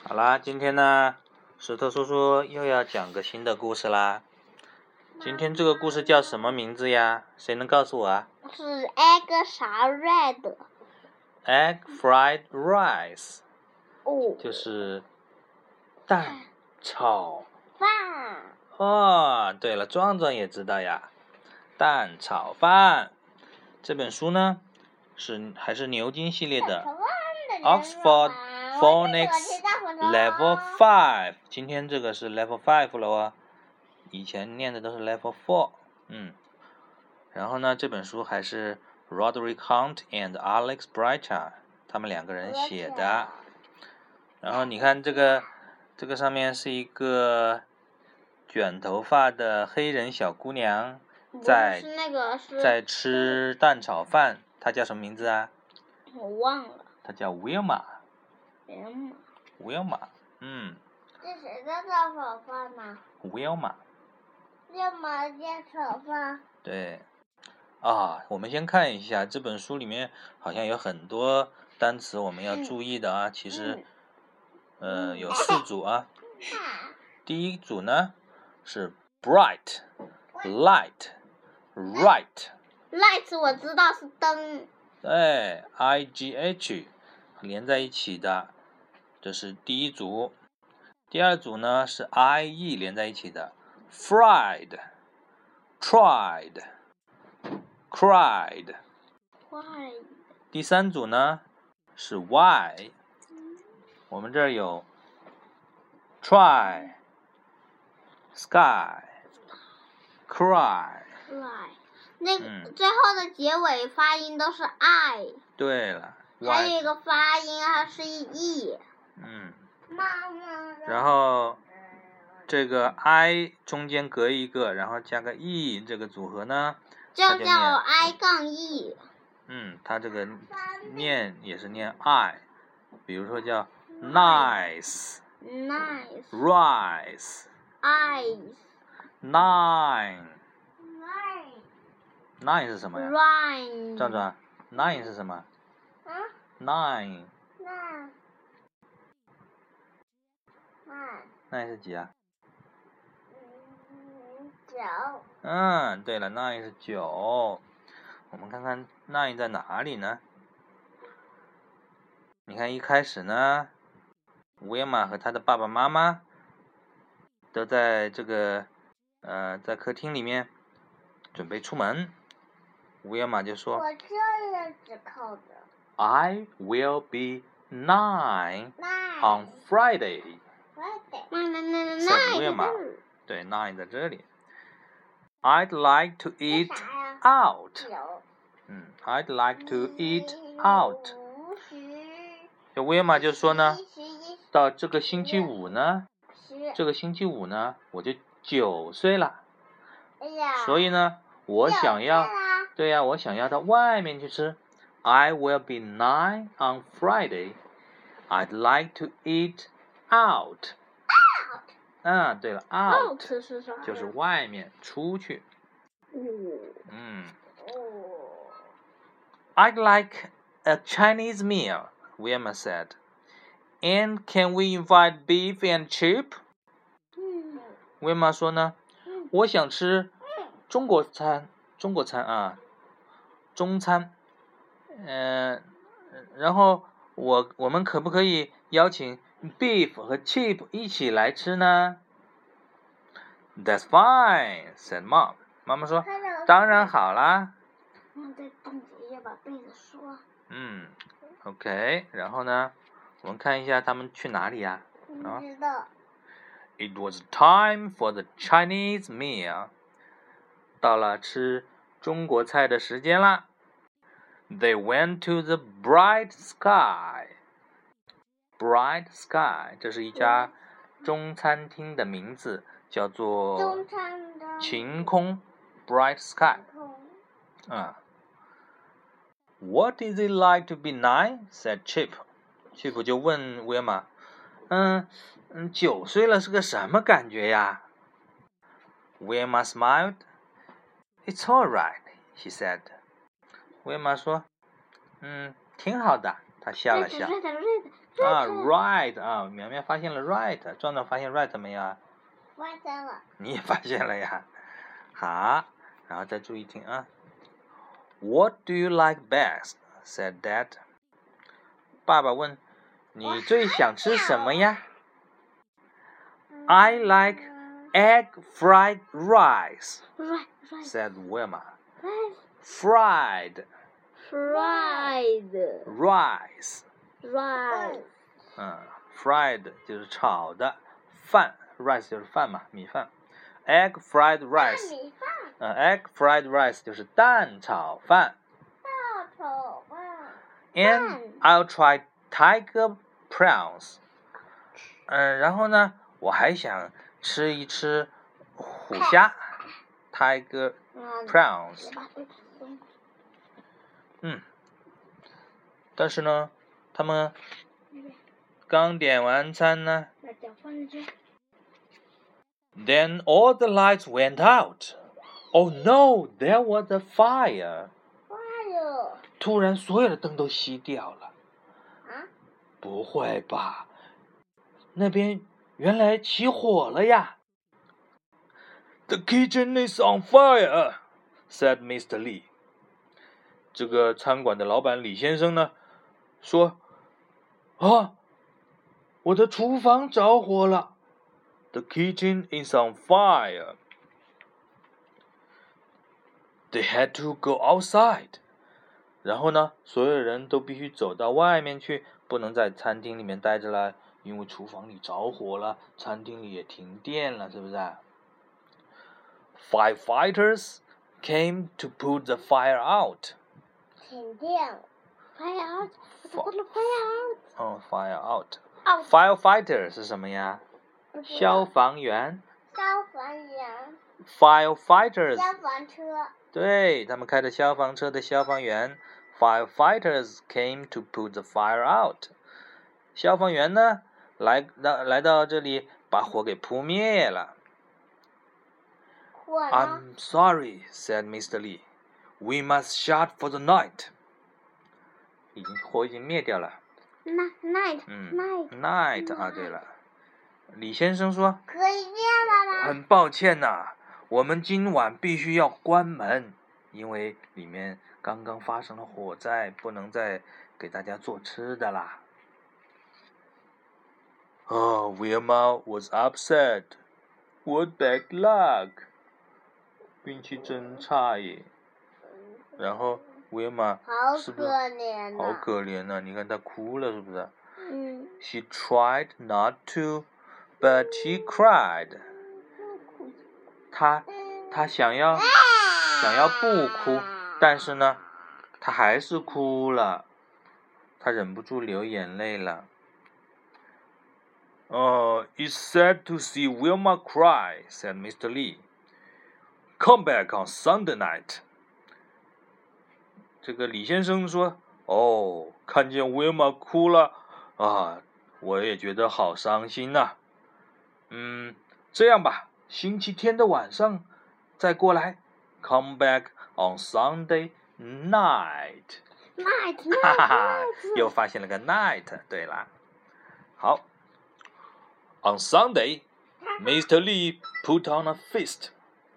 好啦，今天呢，石头叔叔又要讲个新的故事啦。今天这个故事叫什么名字呀？谁能告诉我啊？ 是 egg 啥 red Egg fried rice， 哦， 就是蛋炒饭。 哦，对了，壮壮也知道呀，蛋炒饭。这本书呢还是牛津系列的 Oxford Phonics Level 5， 今天这个是 Level 5了哦，以前念的都是 Level 4。然后呢，这本书还是 Roderick Hunt and Alex Breiter 他们两个人写的。然后你看这个上面是一个卷头发的黑人小姑娘在吃蛋炒饭，她叫什么名字啊？ 我忘了。 她叫 Wilma。 这谁的蛋炒饭呢 Wilma 蛋炒饭。 对啊，我们先看一下这本书里面好像有很多单词我们要注意的啊。其实有4组啊。第一组呢是 bright light right。 light 我知道是灯。 对 IGH 连在一起的，这是第一组。第二组呢是 IE 连在一起的 fried tried cried。 第三组呢是 Y， 我们这儿有 try sky cry。 那最后的结尾发音都是 I。 对了， 还有一个发音还是 E。 然后这个 I 中间隔一个，然后加个 E， 这个组合呢就叫 I 杠 E。 它这个念也是念 I， 比如说叫 nice rice eyes nine 是什么呀？ Rhyme 壮壮 nine 是什么？9 是几啊？9。对了，9是9。我们看看9在哪里呢？你看一开始呢，维玛和他的爸爸妈妈都在这个在客厅里面准备出门。维玛就说：“ 我这样子扣的。 I will be 9 on Friday。” 9 维玛，对，9在这里。I'd like to eat out。I'd like to eat out。这维玛就说呢，到这个星期五呢，我就9岁了。所以呢，我想要到外面去吃。I will be 9 on Friday. I'd like to eat out。对了 ，out 是啥？ 就是外面出去。I'd like a Chinese meal, Wilma said. And can we invite beef and chip? Wilma 说呢，我想吃中餐啊，中餐。然后我们可不可以邀请 beef 和 chip 一起来吃呢？ That's fine, said Mom. 妈妈说，当然好啦。 再冻结一下，把被子说。 OK， 然后呢，我们看一下他们去哪里呀？ 不知道。 It was time for the Chinese meal。 到了吃中国菜的时间啦。They went to the Bright Sky。 Bright Sky， 这是一家中餐厅的名字，叫做晴空 Bright Sky。What is it like to be 9? said Chip。 Chip 就问威玛，9岁了是个什么感觉呀？ Wilma smiled. It's all right, she said. 威玛说，挺好的， 他笑了笑。right 啊，苗苗发现了 right， 壮壮发现 right 没有啊？ 发现了。 你也发现了呀？好，然后再注意听啊。What do you like best? said Dad. 爸爸问，你最想吃什么呀？I like egg fried rice, said Wilma. Fried rice. Fried 就是炒的，饭 rice 就是饭嘛，米饭。Egg fried rice. egg fried rice 就是蛋炒饭。And I'll try tiger prawns. 然后呢，我还想吃一吃虎虾 ，tiger prawns。但是呢，他们刚点完餐呢。Then all the lights went out. Oh no, there was a fire. 突然，所有的灯都熄掉了。不会吧？那边原来起火了呀 ！The kitchen is on fire, said Mr. Lee. 这个餐馆的老板李先生呢，说：“啊，我的厨房着火了。” The kitchen is on fire. They had to go outside. 然后呢，所有人都必须走到外面去，不能在餐厅里面待着了，因为厨房里着火了，餐厅里也停电了，是不是？Firefighters came to put the fire out. 停电了 ，fire out， fire out. Firefighter 是什么呀？消防员。Firefighters。 消防车。 对，他们开着消防车的消防员。Firefighters came to put the fire out. 消防员呢，来到这里，把火给扑灭了。I'm sorry, said Mr. Lee. We must shut for the night. 火已经灭掉了。Night 啊，对了。李先生说， 可以灭了吗？ 很抱歉呐，我们今晚必须要关门，因为里面刚刚发生了火灾，不能再给大家做吃的啦。Wilma was upset. What bad luck! 运气真差耶。然后 Wilma 是不是好可怜呐？你看她哭了，是不是？She tried not to, but she cried. 她想要不哭，但是呢，她还是哭了。她忍不住流眼泪了。It's sad to see Wilma cry, said Mr. Lee. Come back on Sunday night. 这个李先生说：“看见 Wilma 哭了啊，我也觉得好伤心呐。这样吧，星期天的晚上再过来。Come back on Sunday night. 哈哈哈，又发现了个 night。对了，好。On Sunday, Mr. Lee put on a feast.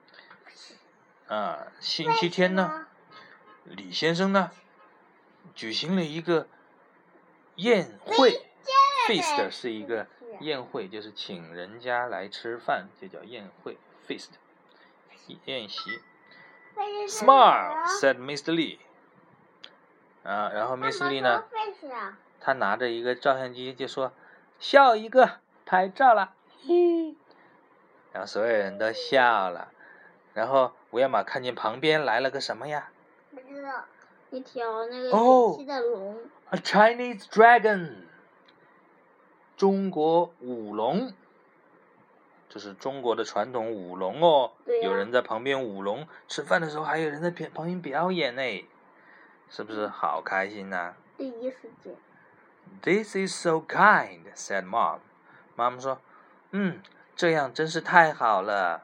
星期天呢，李先生呢，举行了一个宴会。Feast 是一个宴会，就是请人家来吃饭，就叫宴会 feast， 宴席。Smile, said Mr. Lee. 然后 Mr. Lee 呢，他拿着一个照相机就说：“笑一个。”拍照了，然后所有人都笑了，然后维尔玛看见旁边来了个什么呀？ 不知道，一条那个神奇的龙。 A Chinese dragon， 中国舞龙，这是中国的传统舞龙哦。有人在旁边舞龙，吃饭的时候还有人在旁边表演呢，是不是好开心呐？ 第一时间。 This is so kind, said Mom. 妈妈说：“这样真是太好了。”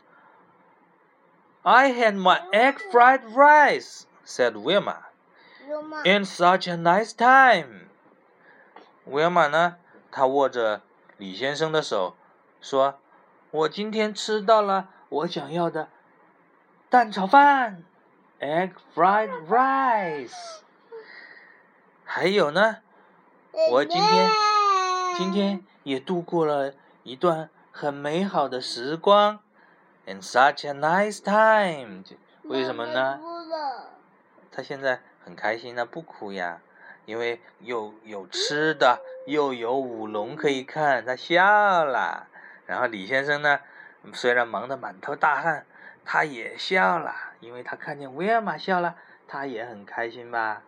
I had my egg fried rice, said Wilma. And such a nice time. 威尔玛呢，他握着李先生的手，说：“我今天吃到了我想要的蛋炒饭 ，egg fried rice。还有呢，我今天也度过了一段很美好的时光 ，and such a nice time。为什么呢？他现在很开心呢，不哭呀，因为又有吃的，又有舞龙可以看，他笑了。然后李先生呢，虽然忙得满头大汗，他也笑了，因为他看见威尔玛笑了，他也很开心吧。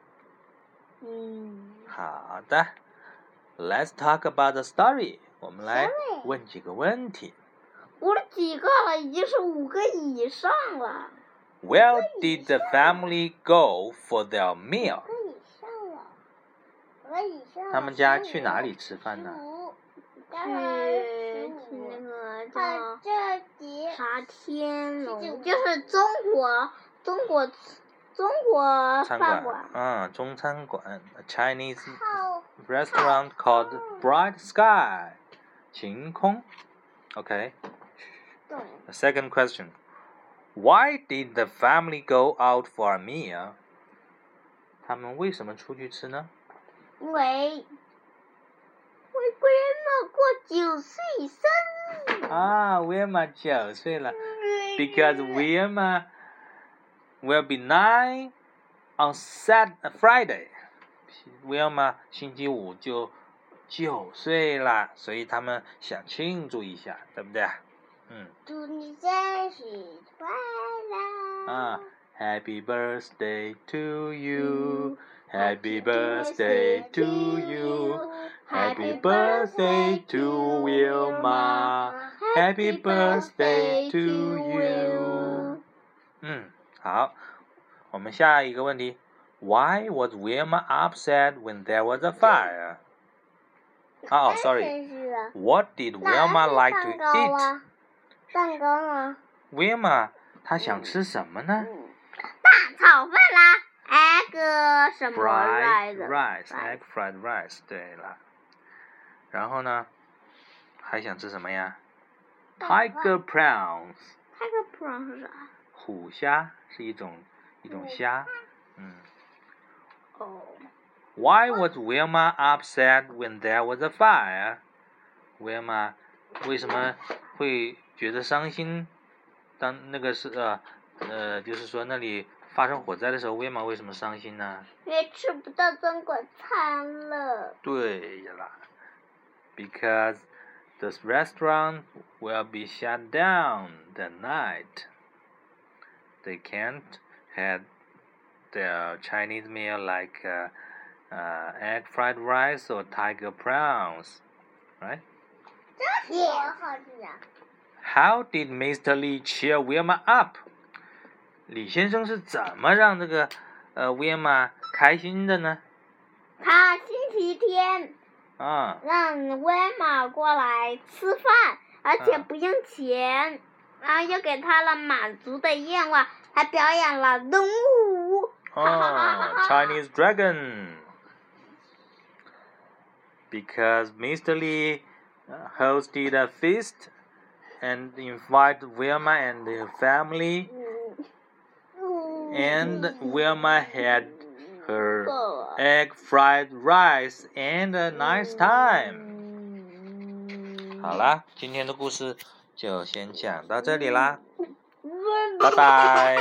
好的 ，Let's talk about the story。我们来问几个问题。 我的几个了，已经是5个以上了。 Where did the family go for their meal？ 他们家去哪里吃饭呢？ 去那个叫啥天龙，就是中国饭馆。 中餐馆 ，a Chinese restaurant called Bright Sky， 晴空。Okay. The second question. Why did the family go out for a meal? 他们为什么出去吃呢？ 因为 Grandma 过9岁生日。 Wilma 9岁了。Because Wilma will be 9 on Friday. Wilma 星期五就9岁了，所以他们想庆祝一下，对不对？ 祝你生日快乐。 Happy birthday to you. Happy birthday to you. Happy birthday to Wilma. Happy birthday to you. 好，我们下一个问题。Why was Wilma upset when there was a fire? Sorry. What did Wilma like to eat? 蛋糕啊。 Wilma 她想吃什么呢？ 大炒饭啦 ，egg 什么来着 ？Egg fried rice。对了。然后呢，还想吃什么呀 ？Tiger prawns。Tiger prawn 是啥？ 虎虾是一种虾。Why was Wilma upset when there was a fire? Wilma 为什么会觉得伤心？当那个是就是说那里发生火灾的时候，威玛为什么伤心呢？ 因为吃不到中国餐了。 对了 ，Because the restaurant will be shut down that night. They can't have their Chinese meal like egg fried rice or tiger prawns, right? How did Mr. Lee cheer Wilma up? 李先生是怎么让这个Wilma 开心的呢？ 他星期天让Wilma过来吃饭，而且不用钱，然后又给他了满足的愿望，还表演了龙舞。 Chinese dragon. Because Mr. Lee hosted a feast and invited Wilma and her family, and Wilma had her egg fried rice and a nice time. 好啦，今天的故事就先讲到这里啦，拜拜。